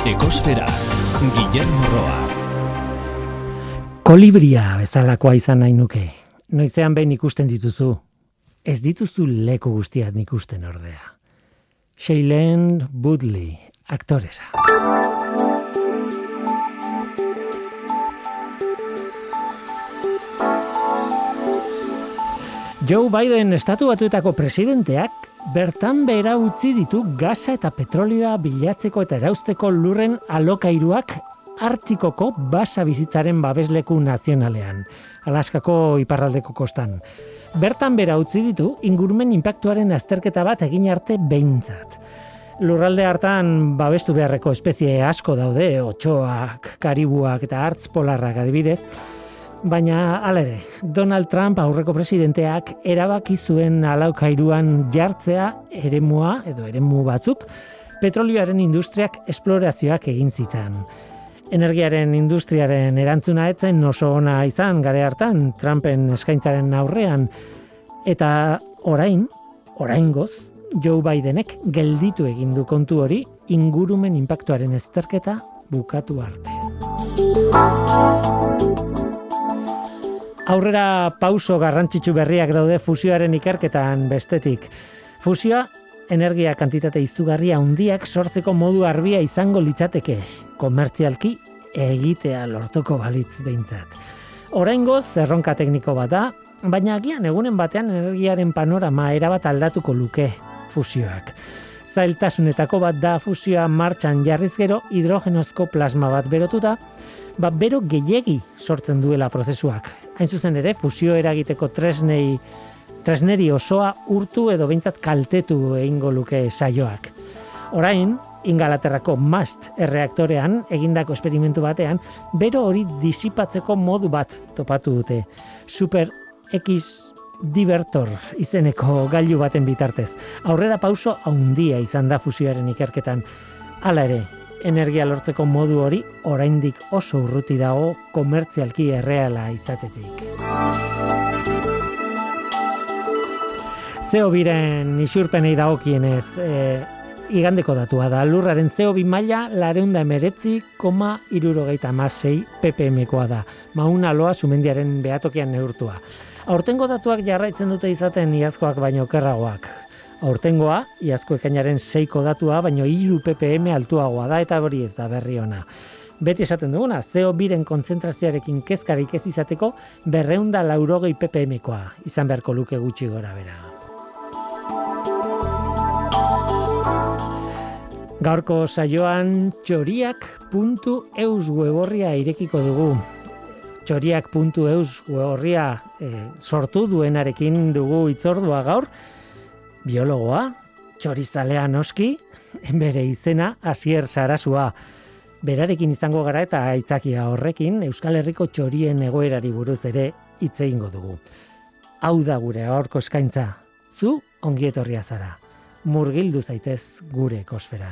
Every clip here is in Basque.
Ekosfera, Guillermo Roa. Kolibria bezalakoa izan nahi nuke. Noizean behin ikusten dituzu. Ez dituzu leku guztiak ikusten ordea. Shailene Woodley, aktoresa. Joe Biden Estatu Batuetako presidenteak bertan behera utzi ditu gasa eta petrolioa bilatzeko eta erauzteko lurren alokairuak Artikoko basa bizitzaren babesleku nazionalean, Alaskako iparraldeko kostan. Bertan behera utzi ditu ingurumen inpaktuaren azterketa bat egin arte behintzat. Lurralde hartan babestu beharreko espezie asko daude, otsoak, karibuak eta hartz polarrak adibidez, baina hala ere, Donald Trump aurreko presidenteak erabaki zuen alaukairuan jartzea eremu batzuk, petrolioaren industriak esplorazioak egin zitzan. Energiaren industriaren erantzuna etzen oso ona izan gare hartan Trumpen eskaintzaren aurrean, eta oraingoz, Joe Bidenek gelditu egin du kontu hori ingurumen inpaktuaren azterketa bukatu arte. Aurrera pauso garrantzitsu berriak daude fusioaren ikerketan bestetik. Fusioa energia kantitate izugarria handiak sortzeko modu arbia izango litzateke, komertzialki egitea lortuko balitz behintzat. Oraingoz erronka tekniko bat da, baina agian egunen batean energiaren panorama erabat aldatuko luke fusioak. Zailtasunetako bat da fusioa martxan jarriz gero hidrogenozko plasma bat berotuta, bero gehiegi sortzen duela prozesuak. Hain zuzen ere, fusio eragiteko tresneri osoa urtu edo behintzat kaltetu egingo luke saioak. Orain, Ingalaterrako MAST erreaktorean egindako esperimentu batean, bero hori disipatzeko modu bat topatu dute. Super X Divertor izeneko gailu baten bitartez. Aurrera pauso handia izan da fusioaren ikerketan. Hala ere, energia lortzeko modu hori oraindik oso urruti dago komertzialki erreala izatetik. CO2-ren isurpenei dagokienez, igandeko datua da. Lurraren CO2 maila 419,76 ppmkoa da. Mauna Loa sumendiaren behatokian neurtua. Aurtengo datuak jarraitzen dute izaten iazkoak baino okerragoak. Aurtengoa, iazko ekainaren 6ko datua, baino 3 ppm altuagoa da eta hori ez da berri ona. Beti esaten duguna, CO2-ren kontzentrazioarekin kezkarik ez izateko 280 ppmkoa izan beharko luke gutxi gora bera. Gaurko saioan txoriak.eus weborria irekiko dugu. Txoriak.eus weborria sortu duenarekin dugu hitzordua gaur. Biologoa, txorizalea noski, bere izena Asier Sarasua. Berarekin izango gara eta aitzakia horrekin Euskal Herriko txorien egoerari buruz ere hitz egingo dugu. Hau da gure gaurko eskaintza. Zu ongi etorria zara. Murgildu zaitez gure ekosferan.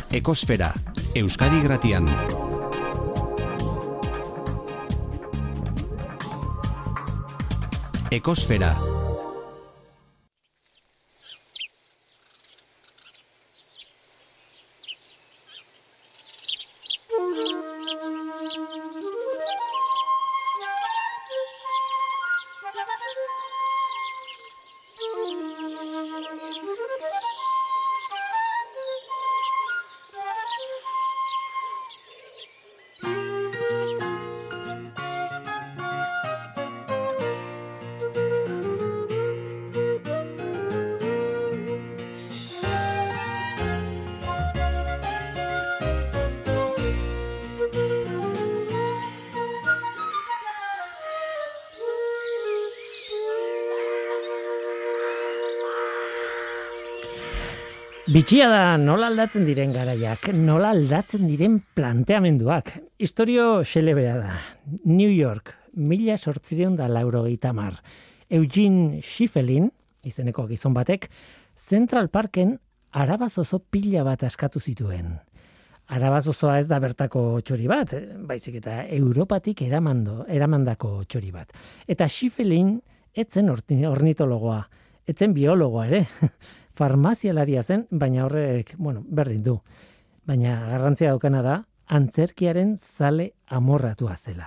Ekosfera, Euskadi Gratian. Ekosfera. Bitxia da nola aldatzen diren garaiak, nola aldatzen diren planteamenduak. Historio xelebrea da. New York, 1880. Eugene Schiffelin, izeneko gizon batek, Central Parken arabazozo pila bat askatu zituen. Arabazozoa ez da bertako txori bat, baizik eta Europatik eramandako txori bat. Eta Schiffelin etzen ornitologoa, etzen biologoa ere. Farmazialaria zen, baina horrek, berdin du. Baina garrantzia daukana da, antzerkiaren zale amorratua zela.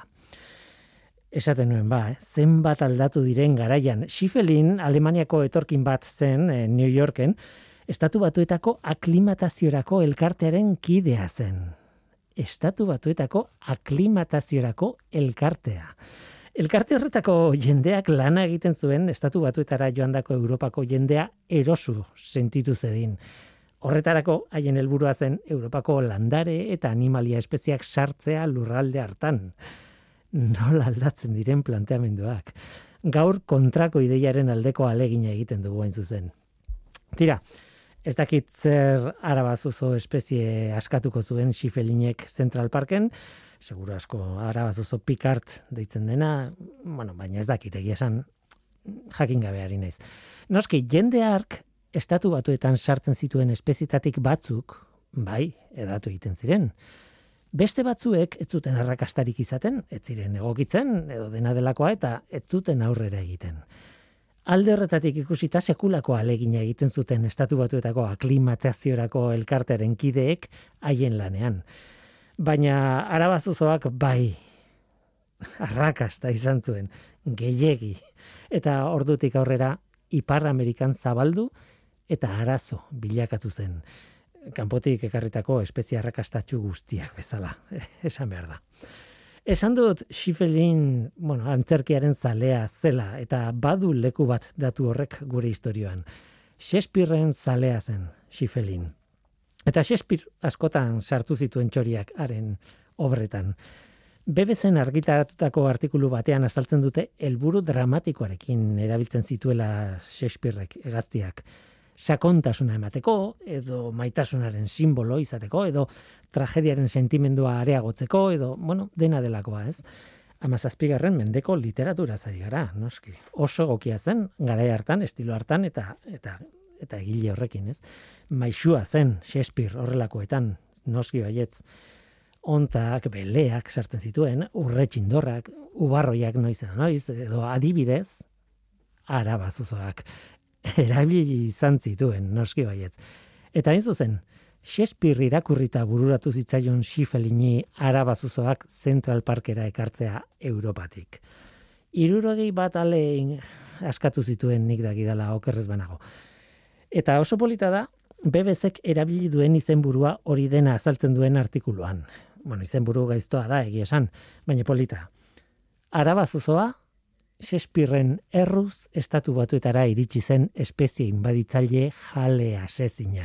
Esaten nuen zenbat aldatu diren garaian. Schiffelin, Alemaniako etorkin bat zen, New Yorken, Estatu Batuetako aklimataziorako elkartearen kidea zen. Estatu Batuetako aklimataziorako elkartea. Elkarte horretako jendeak lana egiten zuen Estatu Batuetara joandako Europako jendea erosu sentitu zedin. Horretarako haien helburua zen Europako landare eta animalia espeziak sartzea lurralde hartan. Nola aldatzen diren planteamenduak. Gaur kontrako ideiaren aldeko alegina egiten dugu hain zuzen. Tira, ez dakit zer arabazozo espezie askatuko zuen Schiffelinek Central Parken, seguro asko arabazozo Picard deitzen dena, baina ez dakit egia esan jakin gabeari naiz. Noski, jende hark Estatu Batuetan sartzen zituen espezietatik batzuk, bai, edatu egiten ziren. Beste batzuek ez zuten arrakastarik izaten, ez ziren egokitzen, edo dena delakoa eta ez zuten aurrera egiten. Alde horretatik ikusita sekulako alegina egiten zuten Estatu Batuetako aklimataziorako elkartearen kideek haien lanean. Baina arabazozoak bai, arrakasta izan zuen, gehiegi. Eta ordutik aurrera, Ipar Amerikan zabaldu eta arazo bilakatu zen. Kanpotik ekarritako espezie arrakastatxu guztiak bezala, esan behar da. Esan dut Schiffelin, antzerkiaren zalea zela, eta badu leku bat datu horrek gure historioan. Shakespearen zalea zen Schiffelin. Eta Shakespeare askotan sartu zituen txoriak haren obretan. BBC-en argitaratutako artikulu batean azaltzen dute helburu dramatikoarekin erabiltzen zituela Shakespearek hegaztiak. Sakontasuna emateko, edo maitasunaren simbolo izateko, edo tragediaren sentimendua areagotzeko, edo, dena delakoa, ez? 17. mendeko literatura zari gara, noski. Oso egokia zen, garai hartan, estilo hartan, eta egile horrekin, ez? Maixua zen Shakespeare horrelakoetan, noski baietz. Ontzak, beleak sartzen zituen, urretxindorrak, ubarroiak noiz, edo adibidez, arabazozoak. Erabili izan zituen, noski baietz. Eta hain zuzen, Shakespeare irakurrita bururatu zitzaion Schiffelini arabazozoak Central Parkera ekartzea Europatik. 61 ale askatu zituen nik dakidala okerrez banago. Eta oso polita da, BBC-ek erabili duen izenburua hori dena azaltzen duen artikuluan. Izenburu gaiztoa da, egia esan, baina polita. Arabazozoa, Shakespearen erruz Estatu Batuetara iritsi zen espezie inbaditzaile jale asezina.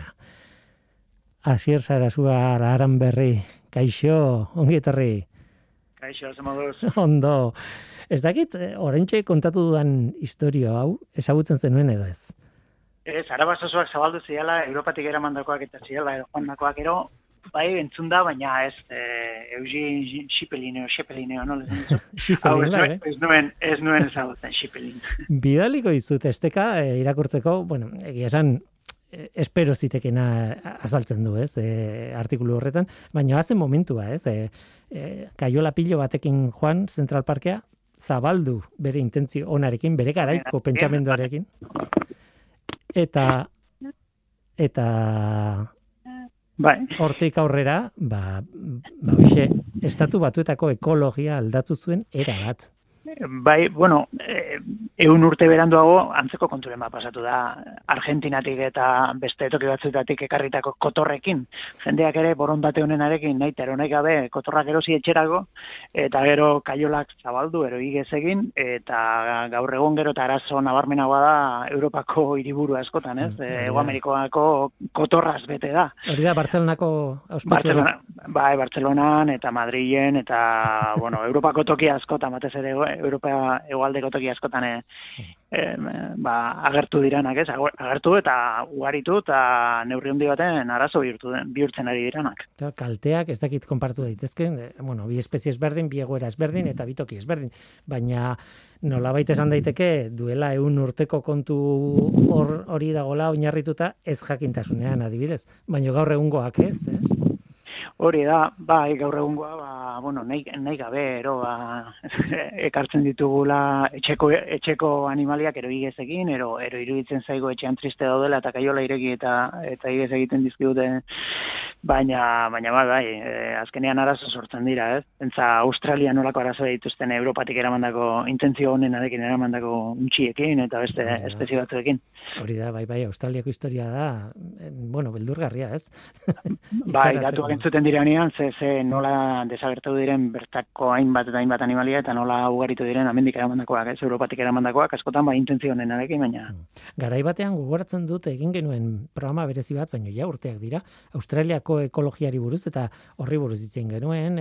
Asier Sarasua Aranberri, kaixo, ongi etorri. Kaixo, zemoduz. Ondo. Ez dakit, oraintxe kontatu dudan historio hau, ezagutzen zenuen edo ez? Ez, arabazozoak zabaldu ziala, Europatik eramandakoak eta ziala, joandakoak ero, bai, entzun da, baina ez, Eugene Schiffelin, no? Schiffelin, bai, Ez nuen ezagutzen, Schiffelin. Bidaliko izut esteka irakurtzeko, egia esan, espero zitekena azaltzen du, ez, artikulu horretan, baina hazen momentua, ez, kaiola pilo batekin joan Central Parkea, zabaldu bere intentzio onarekin, bere garaiko pentsamenduarekin, eta bai. Hortik aurrera, hoxe, Estatu Batuetako ekologia aldatu zuen era bat. Bai, bueno, 100 urte beranduago antzeko konturen bat pasatu da Argentinatik eta beste toki batzuetatik ekarritako kotorrekin. Jendeak ere borondate honenarekin nahi gabe kotorrak erosi etxerako eta gero kaiolak zabaldu ero igez egin eta gaur egun gero eta arazo nabarmenagoa da Europako hiriburu askotan, ez? Hego Amerikoako kotorraz bete da. Hori da Bartzelonako Barcelona, bai, Bartzelonan eta Madrilen eta bueno, Europako toki askotan batez ere Europa hegoaldeko toki askotan agertu diranak, ez? Agertu eta ugaritu eta neurri handi baten arazo bihurtzen ari diranak. Kalteak ez dakit konpartu daitezken, bi espezie ezberdin, bi egoera ezberdin eta bi toki ezberdin, baina nolabait esan daiteke duela 100 urteko kontu hori dagola oinarrituta ez jakintasunean adibidez, baina gaur egungoak ez? Hori da, bai, gaur egungoa, nahi gabe, ekartzen ditugula etxeko animaliak ero igez egin, ero iruditzen zaigo etxean triste daudela eta kaiola ireki eta igez egiten dizkidute, baina azkenean arazo sortzen dira, ez? Entza Australia nolako arazo dituzten Europatik eramandako intentzio honenarekin eramandako untxiekin eta beste espezie batzuekin. Hori da, bai, Australiako historia da, beldurgarria, ez? Bai, datuak entzuten diranean, ze nola desagertu diren bertako hainbat eta hainbat animalia eta nola ugaritu diren amendik eramandakoak, ez? Europatik eramandakoak, askotan intentzio honenarekin, baina... Garai batean gogoratzen dut egin genuen programa berezi bat, baina ja urteak dira, Australiako ekologiari buruz eta horri buruz ditzen genuen,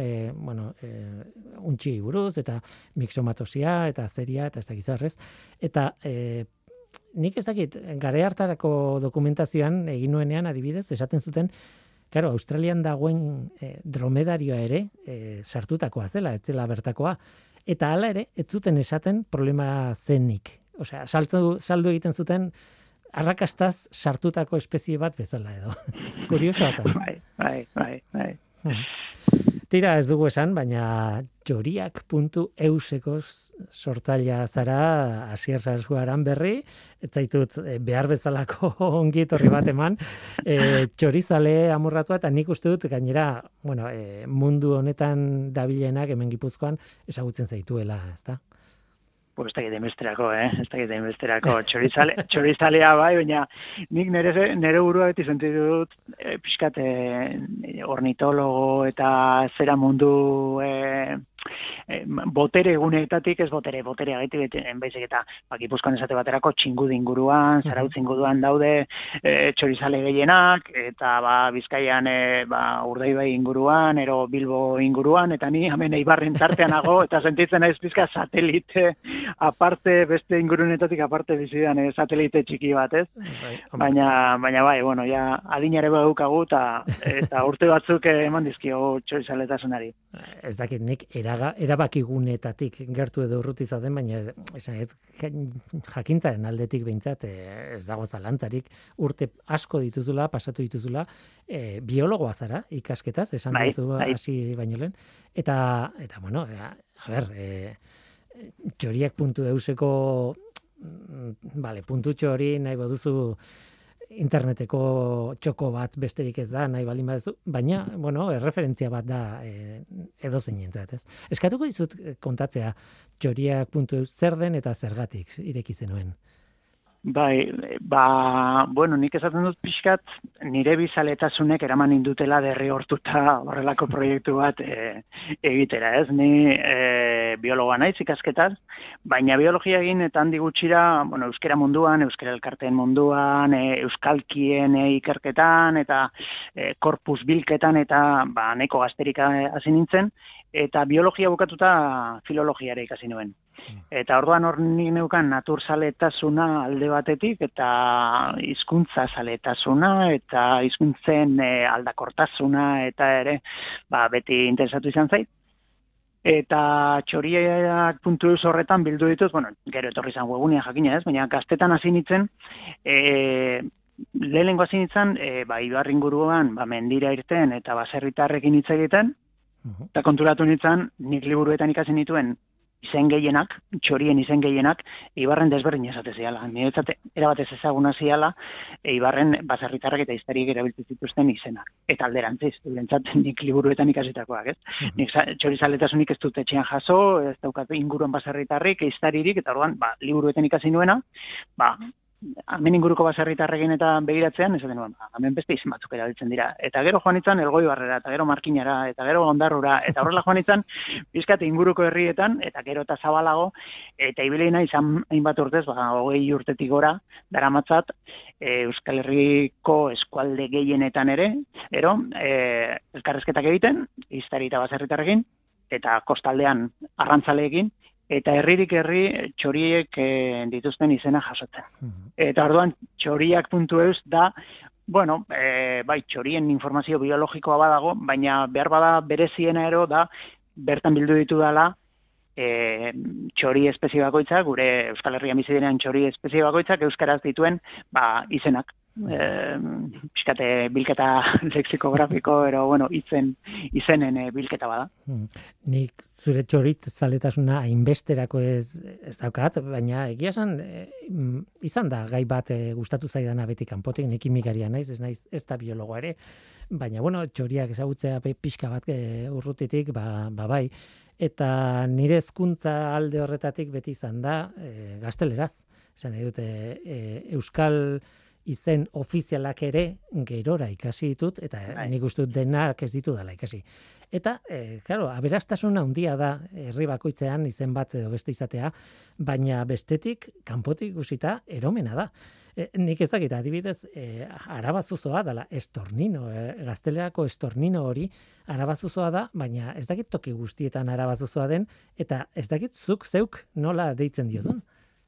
untxiei buruz eta mixomatosia eta zeria eta ez dakizarrez, eta nik ez dakit, garai hartarako dokumentazioan egin nuenean adibidez, esaten zuten, claro, Australian dagoen dromedarioa ere sartutakoa zela, ez zela bertakoa, eta hala ere, ez zuten esaten problema zenik. Osea, saldu egiten zuten arrakastaz sartutako espezie bat bezala edo. Kuriosoa zen. Bai. Tira ez dugu esan, baina txoriak.euseko sortzailea zara Asier Sarasuaran berri, ez zaitut behar bezalako ongi etorri bat eman, txorizale amorratua eta nik uste dut gainera, mundu honetan dabilenak hemen Gipuzkoan ezagutzen zaituela, ezta? Pues ez dakit inbesterako txorizalea bai, baina nik nire burua beti sentitu dut pixkat ornitologo eta zera mundu botere eguneetatik, ez botere agaitik, baizik eta Gipuzkoan esate baterako txingudi inguruan, Zarautz inguruan daude txorizale gehienak, eta Bizkaian Urdaibai inguruan, ero Bilbo inguruan, eta ni hemen Eibarren tartean nago, eta sentitzen naiz pizka satelite, aparte, beste ingurunetatik aparte bizidan satelite txiki bat, ez? Baina bai, ja adinare badaukagu, eta urte batzuk eman dizkio txorizaletasunari. Ez dakit nik erabakigunetatik gertu edo urruti zaten, baina jakintzaren aldetik behintzat ez dago zalantzarik urte asko dituzula, pasatu dituzula, biologoa zara ikasketaz, esan duzu hasi baino lehen, eta txoriak.euseko puntutxo hori nahi baduzu interneteko txoko bat besterik ez da, nahi balin baduzu, baina, erreferentzia bat da edozeinentzat, ez? Eskatuko dizut kontatzea txoriak.eus zer den eta zergatik ireki zenuen. Bai, nik esaten dut pixkat, nire bizaletasunek eraman indutela derrigortuta horrelako proiektu bat egitera, ez? Ni biologoa naiz ikasketaz, baina biologia egin eta handi gutxira, euskera munduan, euskera elkarteen munduan, euskalkien ikerketan, eta korpus bilketan, eta nahiko gazterik hasi nintzen, eta biologia bukatuta filologiara ikasi nuen. Eta orduan hor nik neukan naturzaletasuna alde batetik, eta hizkuntza zaletasuna, eta hizkuntzen aldakortasuna, eta ere, beti interesatu izan zait. Eta txoriak.eus horretan bildu dituz, gero etorri izan webgunean jakina ez, baina gaztetan hasi nintzen, lehenengo hasi nintzen, Ibar inguruan, mendira irten eta baserritarrekin hitz egiten, eta konturatu nintzen, nik liburuetan ikasi nituen izen gehienak, txorien izen gehienak, Ibarren desberdin esate ziala. Niretzat erabatez ezaguna ziala, Ibarren baserritarrek eta iztariek erabiltzen zituzten izenak. Eta alderantziz, durentzat nik liburuetan ikasitakoak, ez? Nik txorizaletasunik ez dut etxean jaso, ez daukat inguruan baserritarrik, iztaririk, eta orduan, liburuetan ikasi nuena, hemen inguruko baserritarrekin eta begiratzean, esaten nuen, hemen beste izen batzuk erabiltzen dira. Eta gero joan itzan Elgoibarrera, eta gero Markinara, eta gero Ondarrura, eta horrela joan itzan, bizkat inguruko herrietan, eta gero eta zabalago, eta ibileina izan hainbat urtez, 20 urtetik gora, daramatzat, Euskal Herriko eskualde gehienetan ere, elkarrezketak egiten, iztari eta baserritarrekin, eta kostaldean arrantzaleekin, eta herririk herri txoriek dituzten izena jasotzen. Eta orduan txoriak.eus da, bai txorien informazio biologikoa badago, baina behar bada bereziena da, bertan bildu ditu dela, txori espezie bakoitzak, gure Euskal Herrian bizi diren txori espezie bakoitzak euskaraz dituen izenak. Piskate bilketa lexikografiko, izenen bilketa bada. Nik zure txorit zaletasuna hainbesterako ez daukat, baina egia esan izan da gai bat gustatu zaidana beti kanpotik, nik kimikaria naiz, ez da biologoa ere, baina txoriak ezagutzea pixka bat urrutitik, bai, eta nire hezkuntza alde horretatik beti izan da gazteleraz. Esan nahi dute euskal izen ofizialak ere gerora ikasi ditut, eta nik uste dut denak ez ditu dela ikasi. Eta, aberastasuna handia da herri bakoitzean izen bat edo beste izatea, baina bestetik, kanpotik ikusita, eromena da. Nik ez dakit, adibidez, arabazuzoa dela estornino, gaztelerako estornino hori arabazuzoa da, baina ez dakit toki guztietan arabazuzoa den, eta ez dakit zuk zeuk nola deitzen diozun.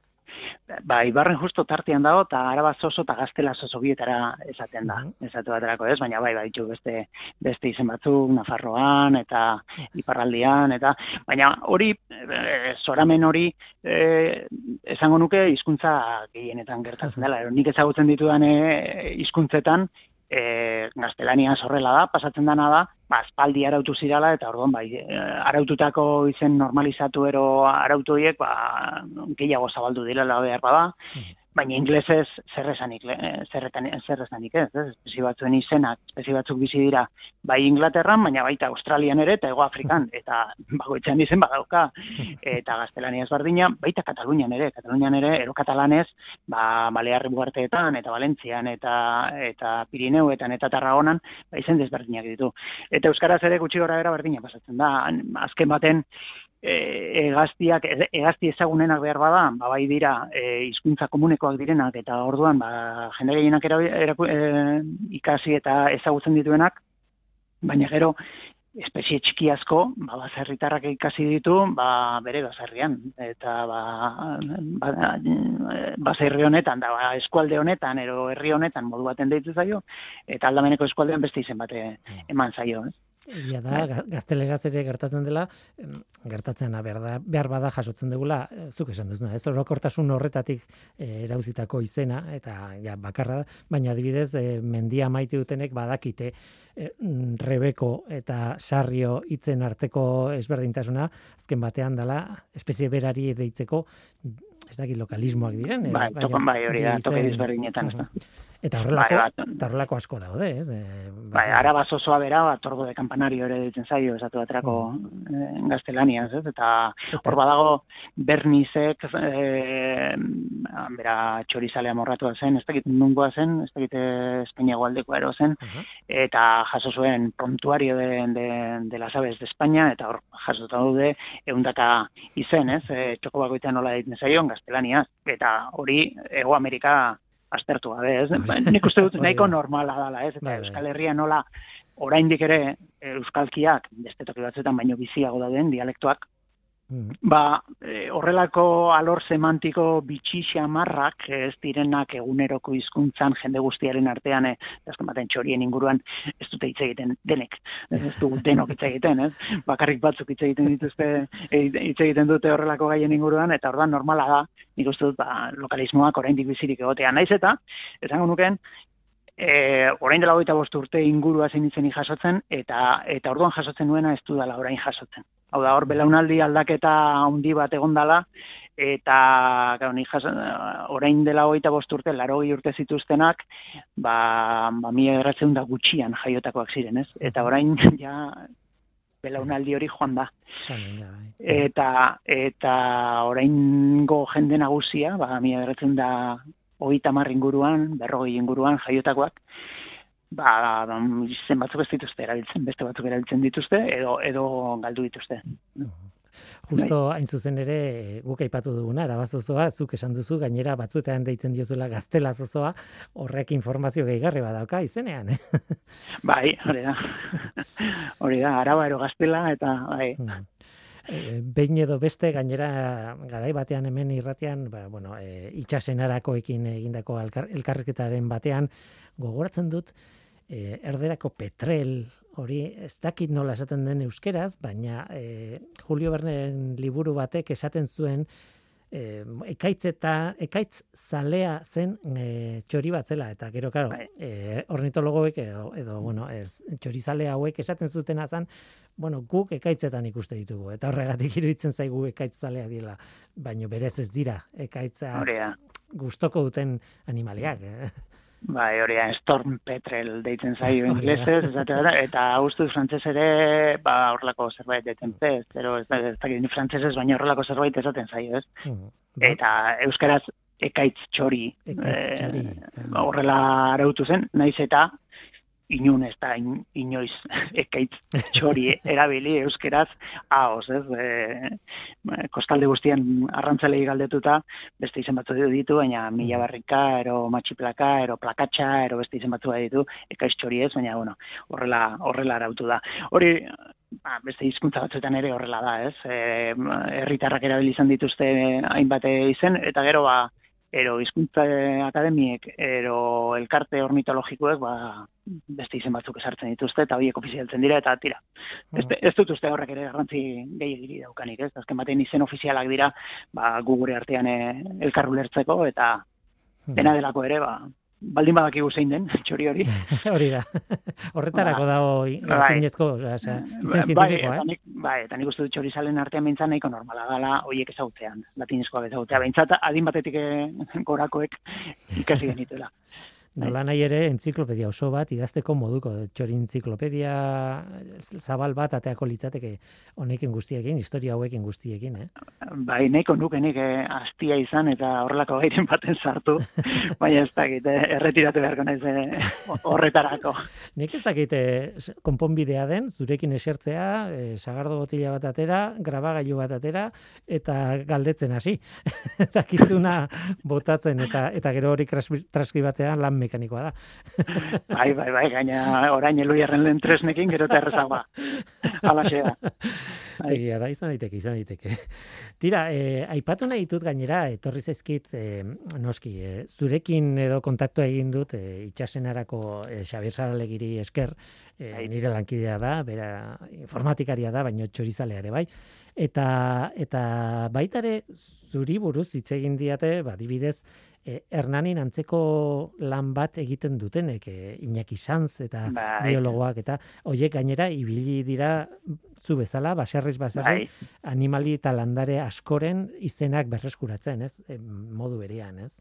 Ibarren justo tartean dago, eta Arabaz oso eta Gaztelaz oso bietara esaten da. Esatu baterako ez, baina ditu beste izen batzuk, Nafarroan eta Iparraldian, baina hori, zoramen hori, esango nuke hizkuntza gehienetan gertatzen dela. Nik ezagutzen ditudan hizkuntzetan, gaztelania horrela da, pasatzen dana da, aspaldi arautu zirala, eta orduan, araututako izen normalizatu arautu horiek, gehiago zabaldu direla behar bada, baina inglesez zerrezanik ez, espezie batzuen izenak, espezie batzuk bizi dira, bai Inglaterran, baina baita Australian ere, eta Hego Afrikan, eta bagoitzean izen badauka, eta gaztelania ezberdina, baita Katalunian ere, erokatalanez, Balearri Uharteetan, eta Valentzian, eta Pirineuetan, eta Tarragonan, izen desberdinak ditu. Eta euskaraz ere gutxi gora bera berdina pasatzen da, azken baten, egazti ezagunenak behar bada, bai dira hizkuntza komunekoak direnak, eta orduan jende gehienak ikasi eta ezagutzen dituenak, baina gero espezie txiki asko, baserritarrak ikasi ditu, bere baserrian, eta baserri honetan, eskualde honetan, ero herri honetan modu baten deitzen zaio, eta aldameneko eskualdean beste izen bate eman zaio, Ia da, gazteleraz ere gertatzen dela, behar bada jasotzen dugula, zuk esan duzuna, ez orokortasun horretatik erauzitako izena, eta bakarra da, baina adibidez, mendia maite dutenek badakite Rebeko eta Sarrio hitzen arteko ezberdintasuna, azken batean dela, espezie berari deitzeko, ez dakit lokalismoak diren. Hori da, toke ezberdinetan, ez da. Eta horrelako asko daude, ez? Arabaz osoa bera, Tordo de Campanario ere ditzen zaio, esatu baterako gaztelaniaz, ez? Eta hor badago Bernizek, bera txorizalea morratua zen, ez dakit nungoa zen, ez dakit Espainiago aldekoa ero zen, eta jaso zuen prontuario de las aves de España, eta hor jasota daude, 100 izen, ez? Txoko bakoitean nola ditzen zaion gaztelaniaz, eta hori Hego Amerika aztertu gabe, ez? Nik uste dut nahiko normala dela, ez? Eta Euskal Herria nola oraindik ere euskalkiak, beste toki batzuetan baino biziago dauden dialektoak, Horrelako alor semantiko bitxi xamarrak ez direnak eguneroko hizkuntzan jende guztiaren artean, azken baten txorien inguruan ez dute hitz egiten denek, ez du denok hitz egiten, ez? Bakarrik batzuk hitz egiten dituzte, hitz egiten dute horrelako gaien inguruan, eta orduan normala da, nik uste dut, lokalismoak oraindik bizirik egotea. Naiz eta, esango nuken, orain dela 25 urte ingurua zein izenik jasotzen, eta orduan jasotzen nuena ez dudala orain jasotzen. Hau da, hor belaunaldi aldaketa handi bat egondala, eta orain dela 25 urte, 80 urte zituztenak, 1900 gutxian jaiotakoak ziren, ez? Eta orain ja belaunaldi hori joan da. Eta oraingo jende nagusia, 1930 inguruan, 40 inguruan jaiotakoak, izen batzuk ez dituzte erabiltzen, beste batzuk erabiltzen dituzte, edo galdu dituzte. Justo hain zuzen ere, guk aipatu duguna, arabazozoa, zuk esan duzu, gainera batzuetan deitzen diozuela gaztelazozoa, horrek informazio gehigarri badauka izenean, Bai, hori da, araba ero gaztela, eta bai. Behin edo beste, gainera garai batean hemen irratian, itxasenarakoekin egindako elkarrizketaren batean, gogoratzen dut, erderako petrel, hori ez dakit nola esaten den euskeraz, baina Julio Verneren liburu batek esaten zuen ekaitz zalea zen txori bat zela, eta gero, karo, ornitologoek edo txorizale hauek esaten zuten azan, guk ekaitzetan ikuste ditugu, eta horregatik iruditzen zaigu ekaitz zalea dira, baina berez ez dira, ekaitza gustoko duten animaliak. Bai, hori da, storm petrel deitzen zaio inglesez, eta ustuz frantzes ere, horrelako zerbait deitzen ez, pero ez dakit ni frantzesez, baina horrelako zerbait esaten zaio, ez? Eta euskaraz ekaitz txori, horrela arautu zen, naiz eta inun ez da inoiz ekaitz txori erabili euskeraz ahoz, ez? Kostalde guztian arrantzalei galdetuta, beste izen batzu ditu, baina mila barrika, ero matxiplaka, ero plakatxa, ero beste izen batzu ditu, ekaitz txori ez, baina horrela arautu da. Hori, beste hizkuntza batzuetan ere horrela da, ez? Herritarrak erabili izan dituzte hainbat izen, eta gero ero hizkuntza akademiek, ero elkarte ornitologikoek, beste izen batzuk esartzen dituzte, eta horiek ofizialtzen dira, eta tira. Ez dut uste horrek ere garrantzi gehiagiri daukanik, ez? Azken batean izen ofizialak dira, gu gure artean elkar ulertzeko, eta dena delako ere, baldin badakigu zein den, txori hori. Hori da. Horretarako dago latinezko, izen zientifikoa, ez? Bai, eta nik uste dut txorizalen artean behintzat nahiko normala dela horiek ezagutzean, latinezkoak ezagutzea. Behintzat, adin batetik gorakoek ikasi genituela. Nola nahi ere, entziklopedia oso bat, idazteko moduko, txori entziklopedia zabal bat ateako litzateke honekin guztiekin, historia hauekin guztiekin, Bai, nahiko nuke nik hastia izan eta horrelako gairen baten sartu, baina ez dakit, erretiratu beharko naiz horretarako. Nik ez dakit konponbidea den, zurekin esertzea, sagardo botila bat atera, grabagailu bat atera, eta galdetzen hasi. Dakizuna botatzen, eta gero hori transkribatzean lan mekanikoa da. Bai, gaina orain Eluiarren lehen tresnekin gero eta errezagoa. Halaxe da. Egia da, izan daiteke. Tira, aipatu nahi ditut gainera, etorri zaizkit, noski, zurekin edo kontaktua egin dut, itxasenarako Xabier Saralegiri esker, nire lankidea da, bera informatikaria da, baina txorizalea ere bai. Eta baitare zuri buruz hitz egin diate, adibidez, Hernanin antzeko lan bat egiten dutenek, Iñaki Sanz eta biologoak, eta hoiek gainera ibili dira zu bezala, baserriz animali eta landare askoren izenak berreskuratzen, ez? Modu berean, ez?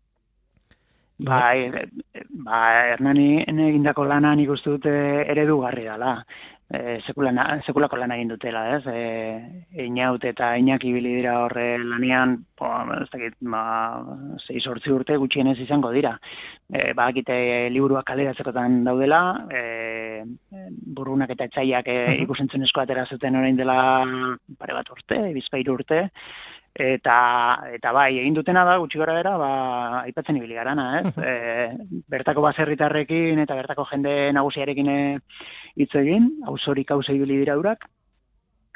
Hernani egindako lana nik uste dut eredugarri dela. Sekulako lan egin dutela, ez? Inaut eta Iñaki ibili dira horre lanean, ez dakit, 6-8 urte gutxienez izango dira. Bakite liburuak kaleratzekotan daudela, burunak eta etxaiak ikusentzunezko atera zuten orain dela pare bat urte, 2 urte, eta bai, egin dutena da, gutxi gora bera, aipatzen ibili garana, ez? Bertako baserritarrekin eta bertako jende nagusiarekin hitz egin, auzorik ibili dira urak,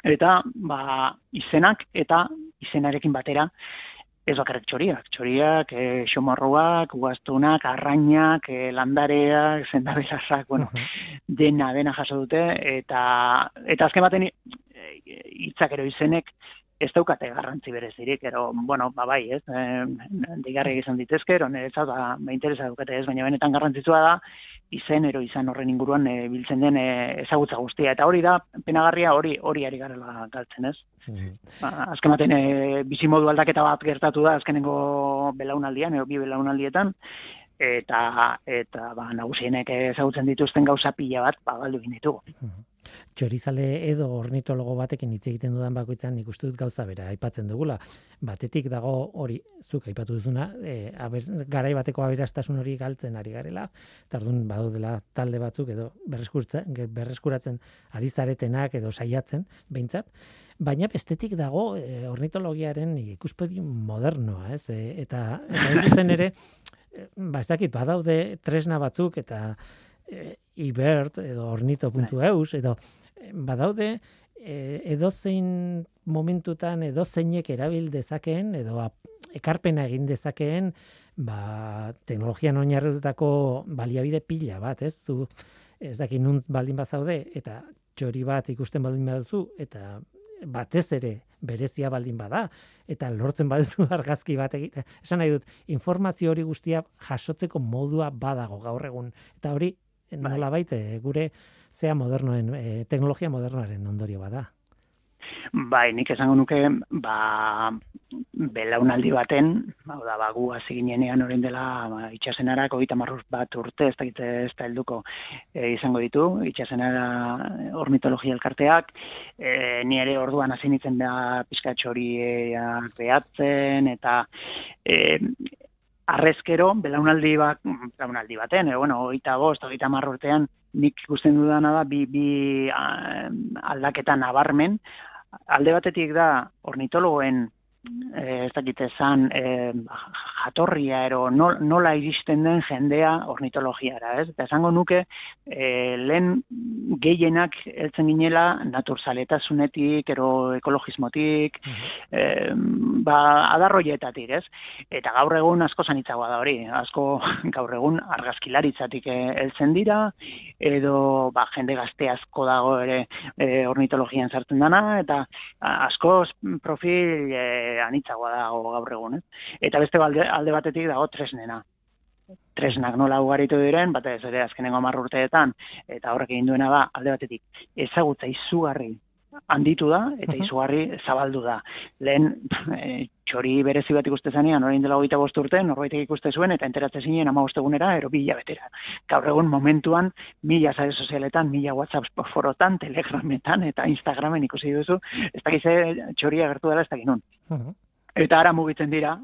Eta izenak eta izenarekin batera ez bakarrik txoriak, xomarroak, ugaztunak, arrainak, landareak, zendabelazak, bueno, dena jaso dute, eta azken baten hitzak ero izenek ez daukate garrantzi berezirik, ero, bueno, bai, ez, deigarriak izan ditezke, ero niretzat, interesa daukate ez, baina benetan garrantzitsua da, izen horren inguruan biltzen den ezagutza guztia. Eta hori da, penagarria hori ari garela galtzen, ez? Azken baten, bizimodu aldaketa bat gertatu da, azkenengo belaunaldian, bi belaunaldietan, eta nagusienek ezagutzen dituzten gauza pila bat, galdu egin ditugu. Txorizale edo ornitologo batekin hitz egiten dudan bakoitzan nik uste dut gauza bera aipatzen dugula. Batetik dago hori zuk aipatu duzuna, garai bateko aberastasun hori galtzen ari garela, eta orduan badaudela talde batzuk edo berreskuratzen ari zaretenak edo saiatzen behintzat, baina bestetik dago ornitologiaren ikuspegi modernoa, ez? Eta ez zen ere, ez dakit, badaude tresna batzuk eta ibert edo ornito.eus edo badaude edozein momentutan edozeinek erabil dezakeen edo ekarpena egin dezakeen teknologian oinarritutako baliabide pila bat, ez? Zu ez dakit nun baldin bazaude eta txori bat ikusten baldin baduzu eta batez ere berezia baldin bada eta lortzen baduzu argazki bat egite. Esan nahi dut, informazio hori guztia jasotzeko modua badago gaur egun eta hori nolabait gure modernoen teknologia modernoaren ondorio bada. Bai, nik esango nuke, belaunaldi baten, gu hasi ginenean orain dela itxasenarak 31 urte, ez da helduko izango ditu, itxasenara ornitologia elkarteak, ni ere orduan hasi nintzen da pizkatxo horiak behatzen, eta arrezkero, belaunaldi baten, 25, 30 urtean, nik ikusten dudana da, bi aldaketa nabarmen. Alde batetik da, ornitologoen, ez dakit esan, jatorria ero, nola iristen den jendea ornitologiara, ez? Eta esango nuke, lehen gehienak heltzen ginela naturzaletasunetik, ero ekologismotik, adarroietatik, ez? Eta gaur egun asko zanitzagoa da hori, asko gaur egun argazkilaritzatik heltzen dira, edo jende gazte asko dago ere ornitologian sartzen dana, eta asko profil anitzagoa dago gaur egun, Eta beste alde batetik dago tresnena. Tresnak nola ugaritu diren, batez ere azkenengo 10 urteetan, eta horrek egin duena da, alde batetik, ezagutza izugarri handitu da, eta izugarri zabaldu da. Lehen, txori berezi bat ikuste zanean, orain dela 25 urte, norbaitek ikuste zuen, eta enteratzen zinen 15 egunera, ero 2 hilabetera. Gaur egun momentuan, 1000 sare sozialetan, 1000 WhatsApp forotan, Telegrametan, eta Instagramen ikusi duzu, ez dakize txoria gertu dela, ez dakin nun. Eta ara mugitzen dira,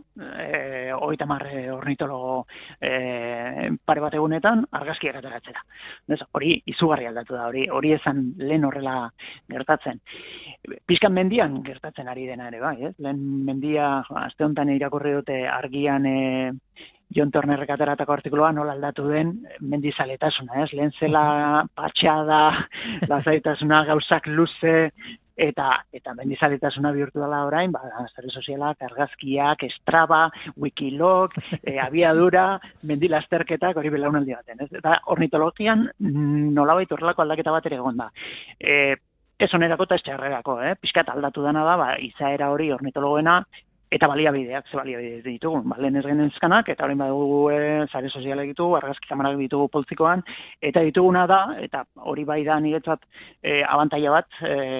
30 ornitologo pare bat egunetan, argazkiak ateratzera. Hori izugarri aldatu da, hori esan lehen horrela gertatzen. Pizkan mendian gertatzen ari dena ere, bai, ez? Lehen mendia, aste honetan irakurri dute argian Jon Turnerrek ateratako artikuloa nola aldatu den mendizaletasuna, ez? Lehen zela patxada, lasaitasuna, gauzak luze, eta mendizaletasuna bihurtu dela orain, sare sozialak, argazkiak, Strava, Wikilog, abiadura, mendilasterketak, hori belaunaldi baten, ez? Eta ornitologian nolabait horrelako aldaketa bat ere egon da. Ez onerako eta ez txarrerako, pixkat aldatu dena da, izaera hori ornitologoena, eta baliabideak, ze baliabide ditugu, lehen ez genezkanak, eta horrein badugu sare sozialak ditugu, argazki kamarak ditugu poltzikoan, eta dituguna da, eta hori bai da niretzat abantaila bat,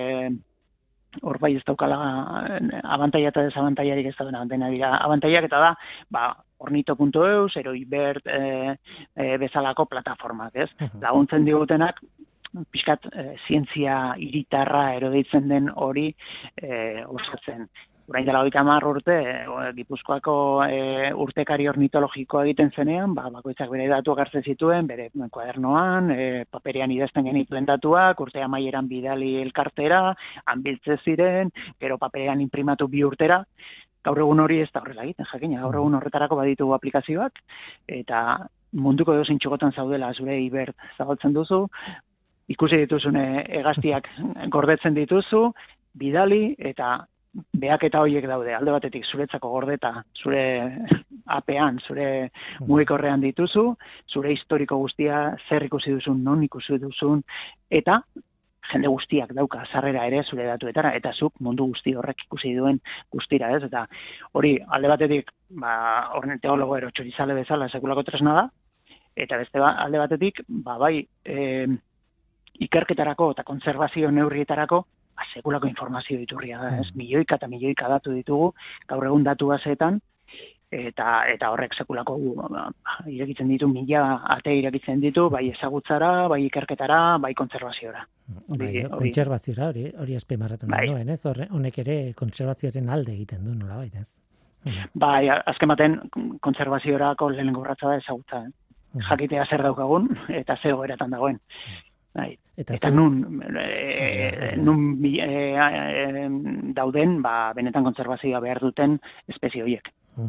hor bai ez daukala abantaila eta desabantailarik ez da dena dira abantailak, eta da, ornito.eus, ero ibert bezalako plataformak, ez? Laguntzen digutenak, pixkat zientzia hiritarra ero deitzen den hori osatzen. Orain dela 30 urte, Gipuzkoako urtekari ornitologikoa egiten zenean, bakoitzak bere datuak hartzen zituen, bere kuadernoan, paperean idazten genituen datuak, urte amaieran bidali elkartera, hanbiltze ziren, gero paperean imprimatu 2 urtera. Gaur egun hori ez da horrela egiten, jakina, gaur egun horretarako baditugu aplikazioak, eta munduko edozein txokotan zaudela zure ibert zabaltzen duzu, ikusi dituzune hegaztiak gordetzen dituzu, bidali eta behaketa horiek daude. Alde batetik zuretzako gordeta, zure apean, zure mugikorrean dituzu, zure historiko guztia, zer ikusi duzun, non ikusi duzun, eta jende guztiak dauka sarrera ere zure datuetara, eta zuk mundu guzti horrek ikusi duen guztira, ez? Eta hori, alde batetik, horren teologo ero txorizale bezala sekulako tresna da, eta beste alde batetik, bai, ikerketarako eta kontserbazio neurrietarako, sekulako informazio iturria da, ez? Milioika eta milioika datu ditugu, gaur egun datu baseetan, eta horrek sekulako irekitzen ditu, 1000 ate irekitzen ditu, bai ezagutzara, bai ikerketara, bai kontserbaziora. Kontserbaziora, hori azpimarratu nuen, ez? Honek ere kontserbazioaren alde egiten du, nolabait, ez? Bai, azken baten kontserbaziorako lehenengo urratsa da ezagutza, jakitea zer daukagun eta ze egoeratan dagoen. Bai. Eta nun dauden, benetan kontserbazioa behar duten espezie horiek.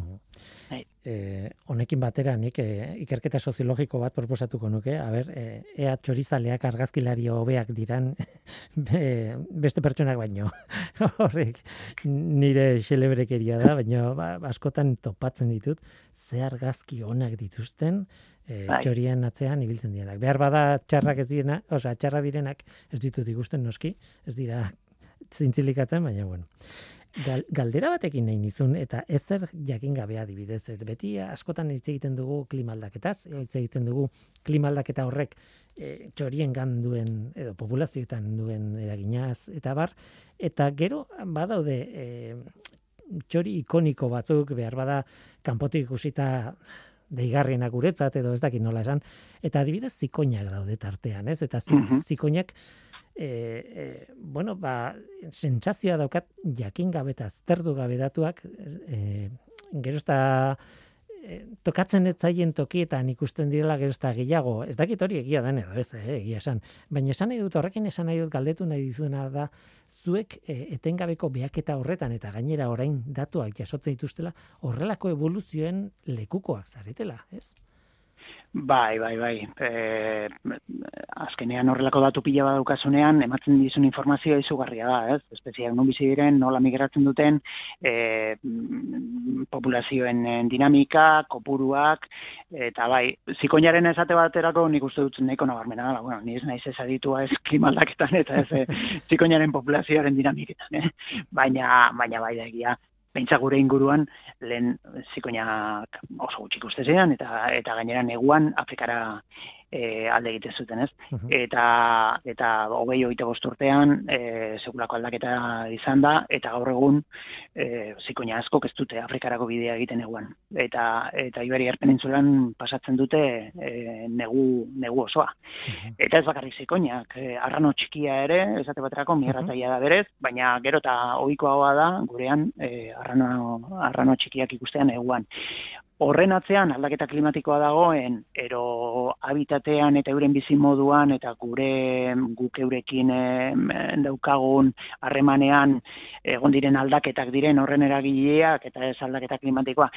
Honekin batera nik ikerketa soziologiko bat proposatuko nuke, ea txorizaleak argazkilari hobeak diran beste pertsonak baino. Horrek nire xelebrekeria da, baina askotan topatzen ditut, ze argazki onak dituzten txorien atzean ibiltzen direnak. Behar bada txarrak ez direna, txarra direnak ez ditut ikusten noski, ez dira zintzilikatzen, baina bueno. Galdera batekin nahi nizun, eta ezer jakin gabea adibidez. Beti askotan hitz egiten dugu klima aldaketaz, hitz egiten dugu klima aldaketa horrek txoriengan duen, edo populazioetan duen eraginaz, eta bar, eta gero badaude txori ikoniko batzuk, behar bada kanpotik ikusita deigarrienak guretzat, edo ez dakit nola esan, eta adibidez zikoinak daude tartean, ez? Eta zikoinak sentsazioa daukat jakin gabe eta azterdu gabe datuak, gero ez da tokatzen ez zaien tokietan ikusten direla gero ez da gehiago, ez dakit hori egia den edo ez, egia esan, baina esan nahi dut horrekin, esan nahi dut galdetu nahi dizuna da, zuek etengabeko behaketa horretan eta gainera orain datuak jasotzen dituztela, horrelako evoluzioen lekukoak zaretela, ez? Bai. Azkenean horrelako datu pila bat daukasunean, ematen dizun informazioa izugarria da, ez? Espezieak non bizi diren, nola migratzen duten, populazioen dinamika, kopuruak, eta bai, zikoinaren esate baterako nik uste dut nahiko nabarmena da, bueno, ni ez naiz ez aditua ez klima aldaketan eta ez zikoinaren populazioaren dinamiketan, baina bai da egia. Pentsa gure inguruan, lehen zikoinak oso gutxi ikusten ziren, eta gainera neguan Afrikara alde egiten zuten, ez? Eta 20-25 urtean sekulako aldaketa izan da, eta gaur egun zikoina askok ez dute Afrikarako bidea egiten neguan. Eta Iberiar penintsulan pasatzen dute negu osoa. Eta ez bakarrik zikoinak, arrano txikia ere, esate baterako migrataia da berez, baina gero eta ohikoagoa da gurean arrano txikiak ikustean neguan. Horren atzean aldaketa klimatikoa dagoen, ero habitatean eta euren bizimoduan eta guk eurekin daukagun harremanean egon diren aldaketak diren horren eragileak eta ez aldaketa klimatikoa.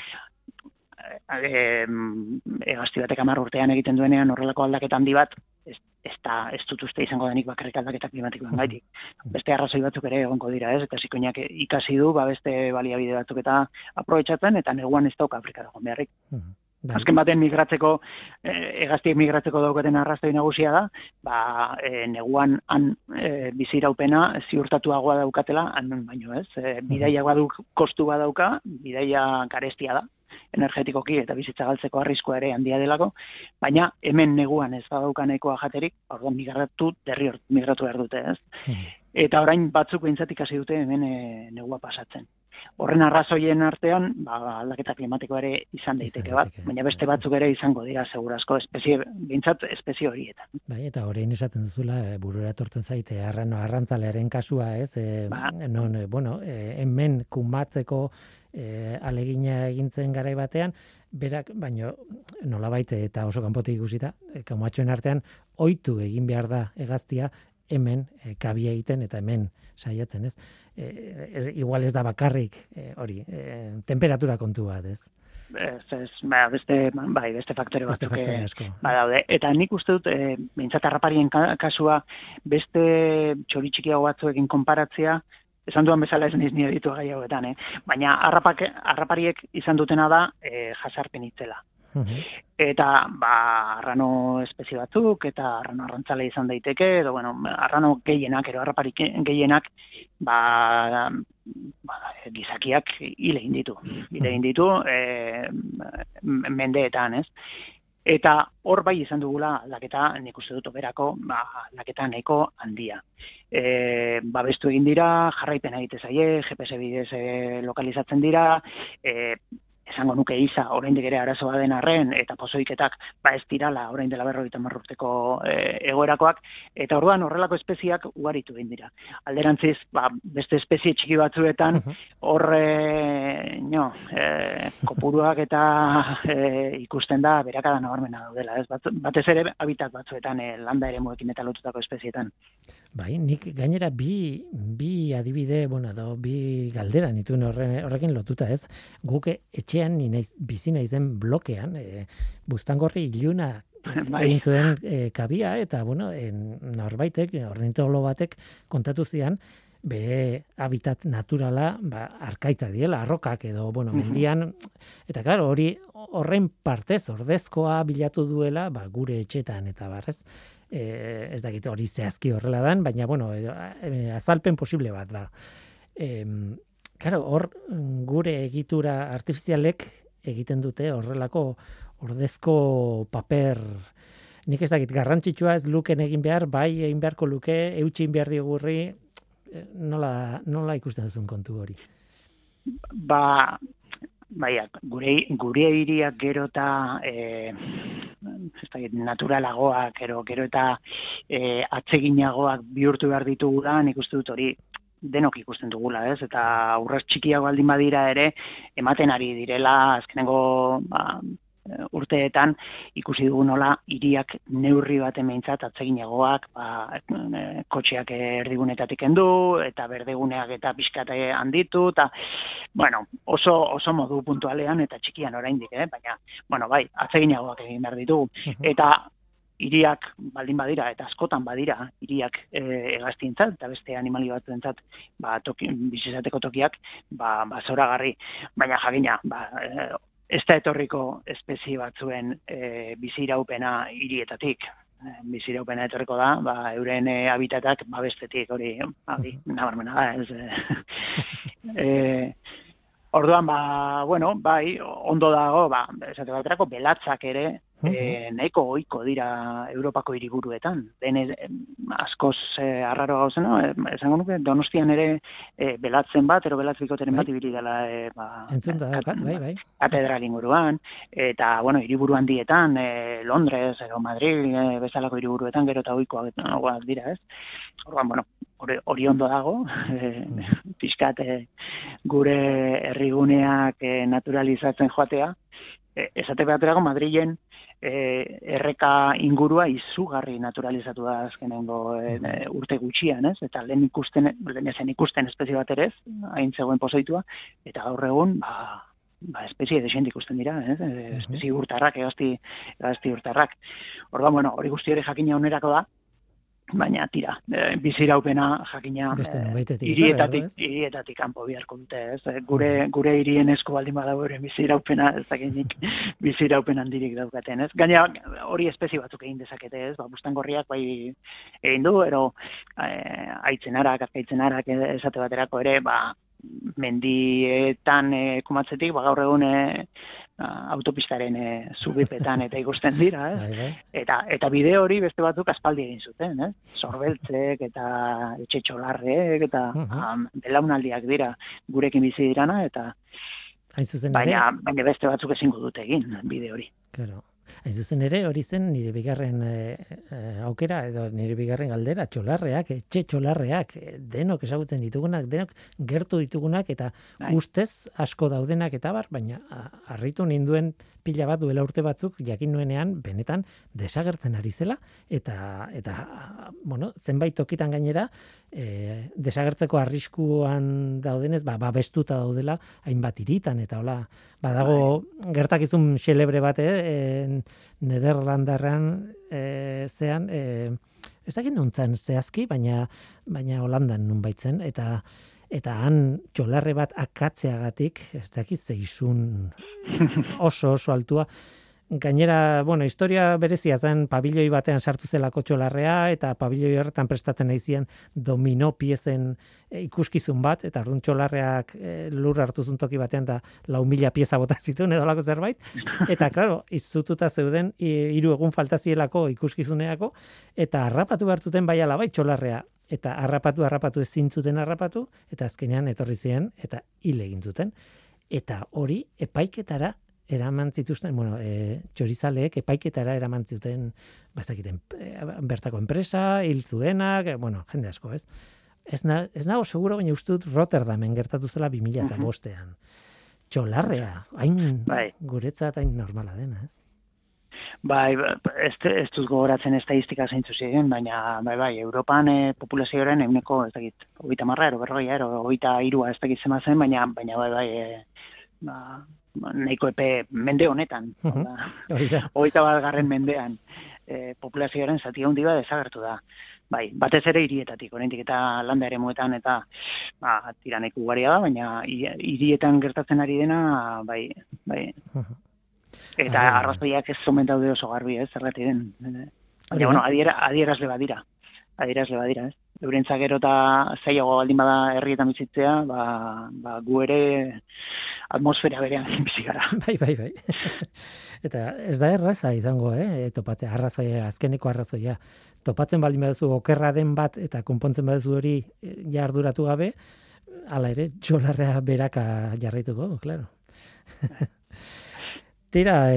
Hegazti batek 10 urtean egiten duenean horrelako aldaketa handi bat, ez dut uste izango denik bakarrik aldaketa klimatikoan gaitik. Beste arrazoi batzuk ere egongo dira, ez? Eta zikoinak ikasi du, beste baliabide batzuk eta aprobetxatzen, eta neguan ez dauka Afrikara joan beharrik. Azken baten hegaztiek migratzeko daukaten arrazoi nagusia da, neguan han biziraupena ziurtatuagoa daukatela, han baino ez. Bidaia baduk kostu badauka, bidaia garestia da, energetikoki eta bizitza galtzeko arriskua ere handia delako, baina hemen neguan ez badauka nahikoa jaterik, orduan migratu behar dute, ez? Eta orain batzuk behintzat ikasi dute hemen negua pasatzen. Horren arrazoien artean, aldaketa klimatikoa ere izan daiteke bat, baina beste batzuk ere izango dira segurazko behintzat espezie horietan. Bai, eta orain esaten duzula, burura etortzen zaite arrantzalearen kasua, ez? Hemen kumatzeko alegina egintzen garai batean, berak, baino nolabait eta oso kanpotik ikusita, kaumatxoen artean, ohitu egin behar da hegaztia hemen kabia egiten eta hemen saiatzen, ez? Igual ez da bakarrik hori, temperatura kontu bat, ez? Beste faktore batzuk badaude. Eta nik uste dut, behintzat harraparien kasua, beste txori txikiago batzuekin konparatzea, esan duan bezala ez niz nire ditu gai hauetan, baina harrapariek izan dutena da jasarpen itzela. Eta, arrano espezie batzuk, eta arrano arrantzale izan daiteke, edo, arrano gehienak, ero harraparik gehienak, gizakiak hile egin ditu, mendeetan, ez? Eta hor bai izan dugula aldaketa, nik uste dut oberako, aldaketa nahiko handia. Babestu egin dira, jarraipena egite zaie, GPS bidez lokalizatzen dira, esango nuke iza, oraindik ere arazoa den arren, eta pozoiketak ez dirala, orain dela 50 urteko egoerakoak, eta orduan horrelako espeziak ugaritu egin dira. Alderantziz, beste espezie txiki batzuetan, hor kopuruak eta ikusten da berakada nabarmena daudela, ez? Batez ere habitat batzuetan, landa eremuekin eta lotutako espezietan. Bai, nik gainera bi adibide, bi galdera nituen horrekin lotuta, ez? Guk etxean bizi naizen blokean, buztangorri iluna egin zuen kabia, eta, norbaitek, ornitologo batek kontatu zian, bere habitat naturala, arkaitzak direla, arrokak edo, mendian, eta claro, horren partez, ordezkoa bilatu duela, gure etxetan, eta barrez, ez dakit hori zehazki horrela dan, baina, azalpen posible bat, Claro, hor gure egitura artifizialek egiten dute horrelako ordezko paper, nik ez dakit garrantzitsua ez luken egin behar, bai egin beharko luke, eutxin behar diogurri, nola ikusten duzun kontu hori? Gure hiriak gero eta naturalagoak, gero eta atseginagoak bihurtu behar ditugula, nik uste dut hori denok ikusten dugula, ez? Eta urras txikiago baldin badira ere, ematen ari direla, azkenengo urteetan ikusi dugu nola hiriak neurri baten behintzat atseginagoak, kotxeak erdigunetatik kendu, eta berdeguneak eta pixkate handitu, eta, oso modu puntualean eta txikian oraindik, baina, atseginagoak egin behar ditugu. Eta hiriak baldin badira, eta askotan badira, hiriak hegaztientzat, eta beste animali batzuentzat, bizizateko tokiak, zoragarri. Baina jakina, ez da etorriko espezie batzuen biziraupena hirietatik. Biziraupena etorriko da, euren habitatak bestetik, hori nabarmena da, ez. Orduan, ondo dago, esate baterako belatzak ere, nahiko ohiko dira Europako hiriburuetan. Askoz arraro gauzena, esango nuke, Donostian ere belatzen bat, belatz bikoteren bat ibili dela katedral inguruan, eta, hiriburu handietan, Londres, Madrid, bezalako hiriburuetan, gero eta ohikoak dira, ez? Orduan, hori ondo dago, pixkat gure herriguneak naturalizatzen joatea, esate baterako Madrilen erreka ingurua izugarri naturalizatu da azkenengo urte gutxian, ez? Eta lehen ezen ikusten espezie bat ere ez, hain zegoen pozoitua, eta gaur egun, espezie desent ikusten dira, espezie urtarrak, hegazti urtarrak. Orduan, hori guzti hori jakina onerako da, baina tira, biziraupena jakina hirietatik kanpo biharko dute, ez? Gure hirien esko baldin badago ere biziraupena, ez dakinik biziraupen handirik daukaten, ez? Gaina hori espezie batzuk egin dezakete, ez? Buztangorriak bai egin du, ero aitzenarak, azkaitzenarak esate baterako ere, mendietan kumatzetik, gaur egun autopistaren zubipetan eta ikusten dira, ez? Eta bide hori beste batzuk aspaldi egin zuten, ez? Sorbeltzek eta etxe txolarrek eta belaunaldiak dira gurekin bizi dirana, eta baina beste batzuk ezingo dute egin bide hori. Claro. Hain zuzen ere, hori zen nire bigarren aukera, edo nire bigarren galdera, txolarreak, etxe txolarreak, denok ezagutzen ditugunak, denok gertu ditugunak, eta ustez asko daudenak eta baina harritu ninduen pila bat duela urte batzuk, jakin nuenean, benetan desagertzen ari zela, eta zenbait tokitan gainera, desagertzeko arriskuan daudenez, babestuta daudela, hainbat hiritan, eta hola, badago gertakizun xelebre bat, Nederlandarran zean, ez dakit nuntzan zehazki, baina Holandan nun baitzen, eta eta han txolarre bat akatzeagatik, ez dakit zeizun oso altua. Gainera, historia berezia zen pabilioi batean sartu zelako txolarrea, eta pabilioi horretan prestatzen naizien domino piezen ikuskizun bat, eta orduan txolarreak lur hartu zuen toki batean, da 4.000 pieza bota zituen edolako zerbait, eta, klaro, izututa zeuden 3 egun faltazielako ikuskizuneako, eta harrapatu behartuten bai ala bai txolarrea, eta harrapatu ezin zuten harrapatu, eta azkenean etorri ziren, eta hil egin zuten. Eta hori epaiketara eraman zituzten, txorizaleek epaiketara eraman zuten, bertako enpresa, hil zuenak, jende asko, ez? Ez nago seguro, baina uste dut Rotterdamen gertatu zela 2005ean. Txolarrea, hain guretzat hain normala dena, ez? Bai, ez dut gogoratzen estadistika zeintzu ziren, baina Europan populazioaren eguneko, ez dakit, 30 ero, 40 ero, 23 ez dakit zema zen, baina nahiko epe mende honetan, 21. mendean, populazioaren zati handi bat desagertu da. Bai, batez ere hirietatik, oraindik eta landa eremuetan eta tira nahiko ugaria da, baina hirietan gertatzen ari dena, bai. Eta arrazoiak ez omen daude oso garbi, ez, zergatik den. Baina, adierazle badira, ez. Eurentzak gero eta zailago baldin bada herrietan bizitzea, gu ere atmosfera berean bizi gara. Bai. Eta ez da erraza izango, topatzea, azkeneko arrazoia. Topatzen baldin baduzu okerra den bat eta konpontzen baduzu hori arduratu gabe, hala ere, txolarrea beraka jarraituko, claro. Tira,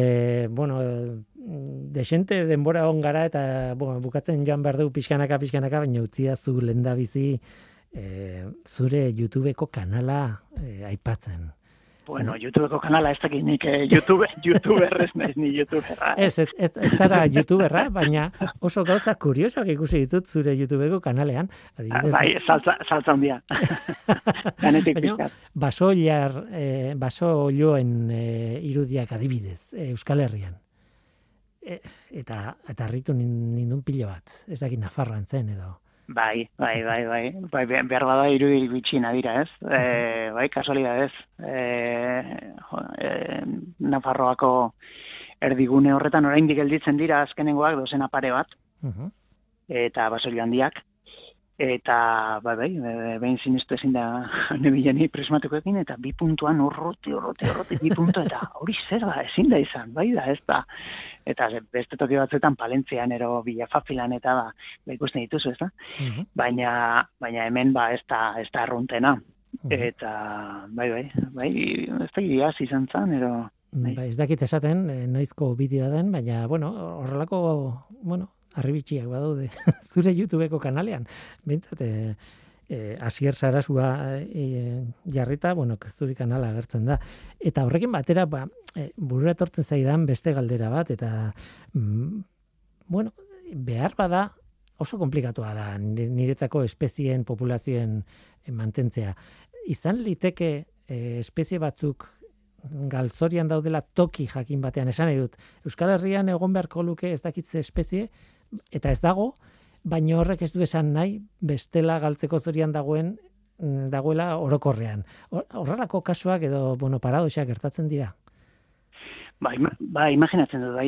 desente denbora on gara eta bukatzen joan behar dugu pixkanaka, baina utzia zu lehendabizi zure YouTubeko kanala aipatzen. Bueno, YouTubeko kanala ez dakit nik YouTuberrez naiz ni YouTuberra. Ez zara YouTuberra, baina oso gauza kuriosoak ikusi ditut zure YouTubeko kanalean. Adibidez, bai, saltza handia. Ganetik pizkat. Baso olioen irudiak adibidez, Euskal Herrian. Eta harritu nindun pilo bat. Ez dakit Nafarroan zen edo. Bai, behar bada irudi bitxina dira, ez? Bai, kasualidadez. Nafarroako erdigune horretan oraindik gelditzen dira azkenengoak dozena pare bat, eta basoio handiak, eta behin sinistu ezin da nebileni prismatukoekin, eta 2 puntuan urruti, 2 puntu, eta hori zer da, ezin da izan, bai da, ez da. Eta beste toki batzuetan Palentzian ero Bilafafilan eta ikusten dituzu, ez da? Baina hemen ez da arruntena. Eta bai, ez da iaz izan zan, ero... Ez dakit esaten, noizko bideoa den, baina, horrelako, arribitxiak badaude zure YouTubeko kanalean. Bintzat, Asier Sarasua jarrita, zuri kanala agertzen da. Eta horrekin batera, burura etortzen zaidan beste galdera bat, eta, behar bada oso komplikatua da niretzako espezien, populazioen mantentzea. Izan liteke espezie batzuk galzorian daudela toki jakin batean, esan nahi dut. Euskal Herrian egon beharko luke ez dakitze espezie, eta ez dago, baina horrek ez du esan nahi bestela galtzeko zorian dagoela orokorrean. Horrelako kasuak edo paradoxak gertatzen dira. Imaginatzen dut,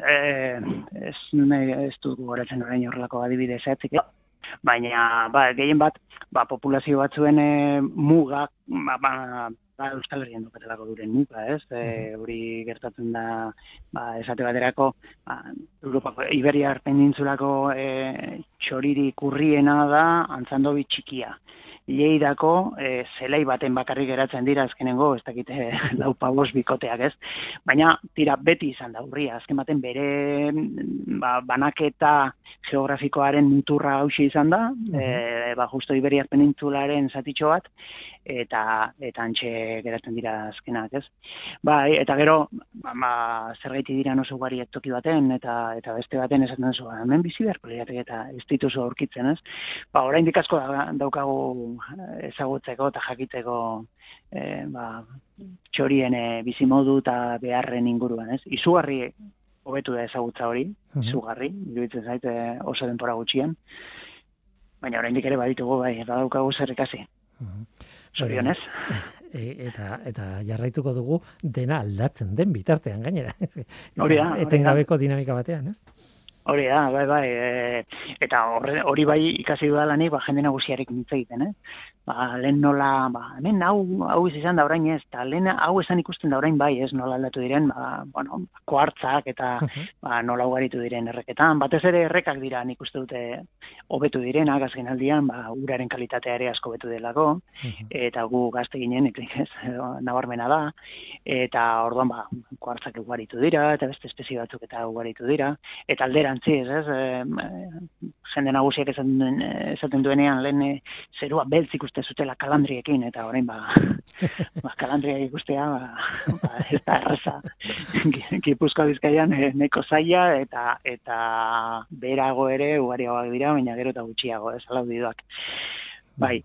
ez dut gogoratzen orain horrelako adibide zehatzik, baina gehien bat populazio batzuen muga, Euskal Herrian dukatelako duren muga, ez? Hori gertatzen da, esate baterako, Europako Iberiar penintsulako txoririk urriena da Antzandobi txikia. Lleidako zelai baten bakarrik geratzen dira azkenengo, ez dakite 4-5 bikoteak, ez? Baina tira beti izan da urria, azken baten bere banaketa geografikoaren muturra hauxe izan da, justo Iberiar penintsularen zatitxo bat, eta antxe geratzen dira azkenak, ez? Eta gero, zergaiti dira oso ugariak toki baten, eta beste baten esaten duzu, hemen bizi beharko lirateke eta ez dituzu aurkitzen, ez? Oraindik asko daukagu ezagutzeko eta jakiteko txorien bizimodu eta beharren inguruan, ez? Izugarri hobetu da ezagutza hori, izugarri, iruditzen zait oso denbora gutxian, baina oraindik ere baditugu, badaukagu zer ikasi. Zorionez. Eta jarraituko dugu dena aldatzen den bitartean gainera. Hori da. Etengabeko dinamika batean, ez? Hori da, bai. Eta hori bai ikasi dudalanik, jende nagusiarekin hitz egiten, lehen nola, hemen hau izan da orain ez, eta lehen hau esan ikusten da orain bai ez, nola aldatu diren, kuartzak eta nola ugaritu diren erreketan. Batez ere errekak dira, nik uste dute hobetu direnak azken aldian, uraren kalitatea ere asko hobetu delako, eta gu gazte ginen, ez, nabarmena da, eta orduan kuartzak ugaritu dira, eta beste espezie batzuk eta ugaritu dira, eta alderantziz, ez, jende nagusiak esaten duenean lehen zerua beltz ikusten zutela kalandriekin, eta orain kalandriak ikustea ez da erraza. Gipuzkoa Bizkaian neko zaila, eta berago ere ugariagoak dira, baina gero eta gutxiago, ez alaudidoak. Bai.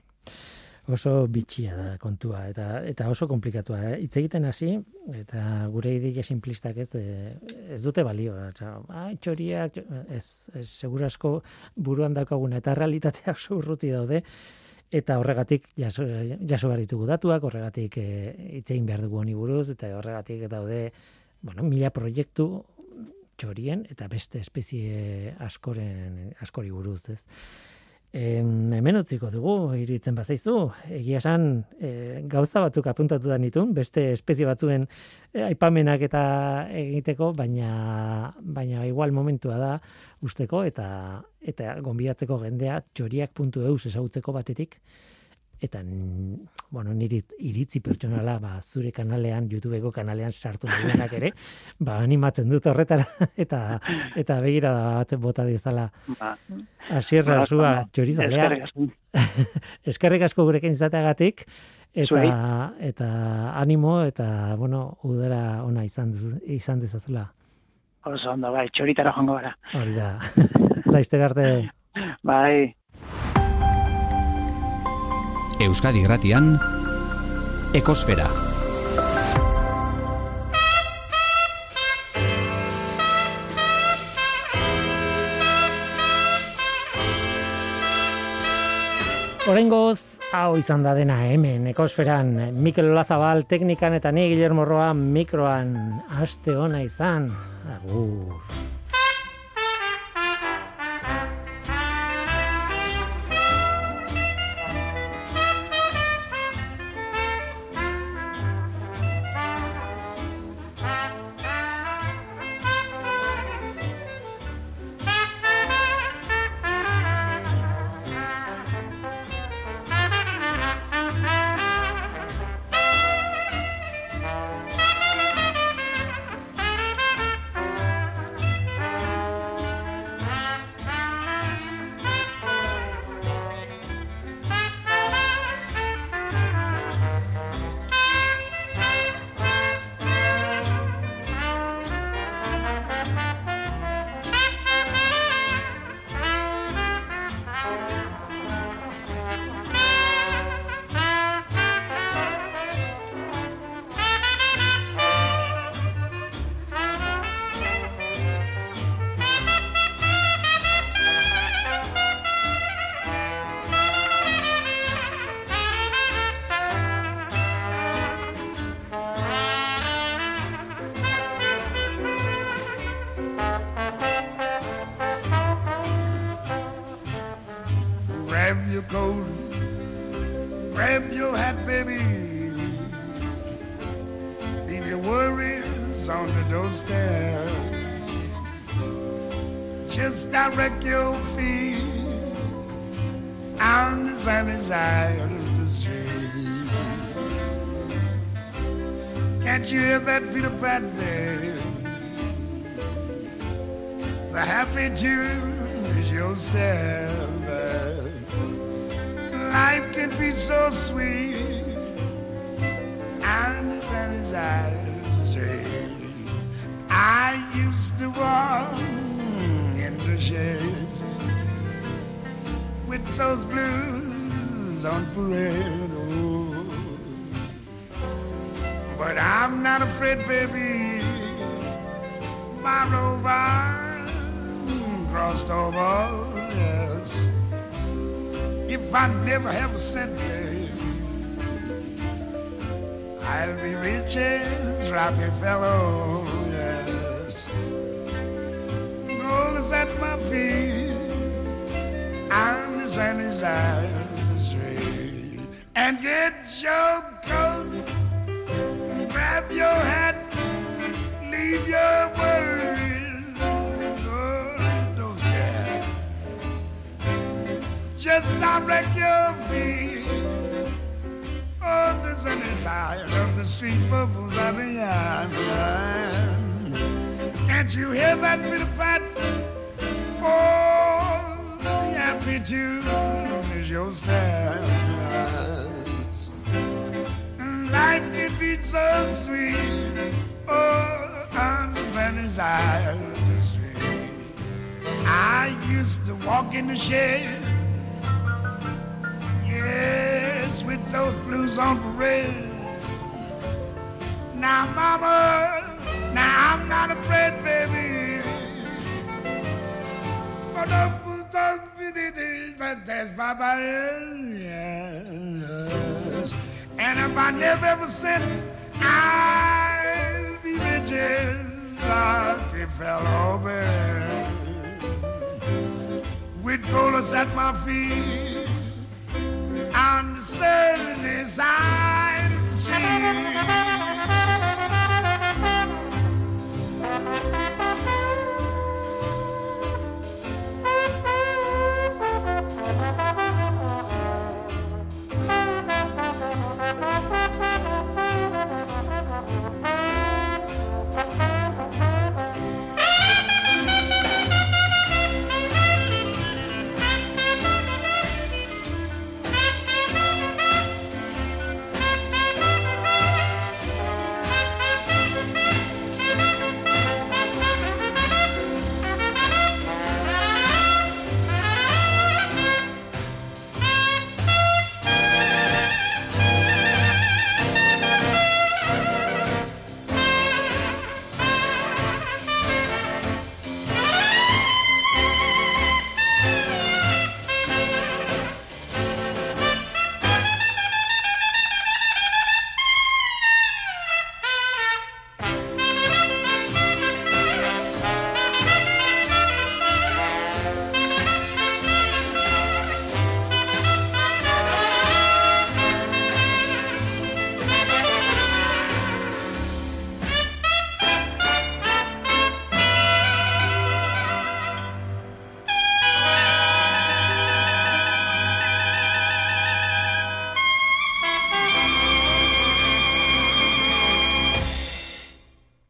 Oso bitxia da kontua, eta oso komplikatua. Hitz egiten hasi, eta gure ideia simplistak ez dute balio. Txoriak, ez segurasko buruan daukaguna, eta realitatea oso urruti daude, eta horregatik jaso behar ditugu datuak, horregatik hitz egin behar dugu honi buruz, eta horregatik daude, mila proiektu txorien, eta beste espezie askori buruz, ez. Hemen utziko dugu, iruditzen bazaizu, egia esan gauza batzuk apuntatu da nituen, beste espezie batzuen aipamenak eta egiteko, baina igual momentua da usteko eta gonbidatzeko jendea txoriak.eus ezagutzeko batetik, eta niri iritzi pertsonala zure kanalean, YouTubeko kanalean sartu nahianak ere, animatzen dut horretara, eta begirada bat bota dizala Asier Rasua txorizalea. Eskerrik asko gurekin izateagatik, eta animo, eta udara ona izan dezazula. Oso ondo, bai, txoritara joango gara. Hori da. Laizter arte. Bai. Euskadi Gratian, Ekosfera. Oraingoz, hau izan da dena hemen Ekosferan, Mikel Olazabal teknikan eta ni Guillermo Roa mikroan. Aste ona izan. Agur. Grab your coat, grab your hat, baby. Leave your worries on the doorstep. Just direct your feet on the sunny side of the street. Can't you hear that Peter Pan, baby? The happy tune is your step. Life can be so sweet and the sunny side of the street. I used to walk in the shade with those blues on parade. Oh. But I'm not afraid, baby. My rover crossed over, yes. if I never have a cent, baby, I'll be rich as Rockefeller, yes. Gold is at my feet, I'm the sunny's eyes straight. And get your coat, grab your hat, leave your worries, oh, don't stare. Just direct your feet on the sunny side of the street for Buzazian. Can't you hear that pitter-pat? Oh, the happy tune is your stars. Life can be so sweet, oh, on the sunny side of the street. I used to walk in the shed, yes, with those blues on parade. Now, mama, now I'm not afraid, baby. But that's Baba, yes. And if I never ever sin, I'll be rich as Rockefeller, baby. With gold at my feet, on the sunny side of the street.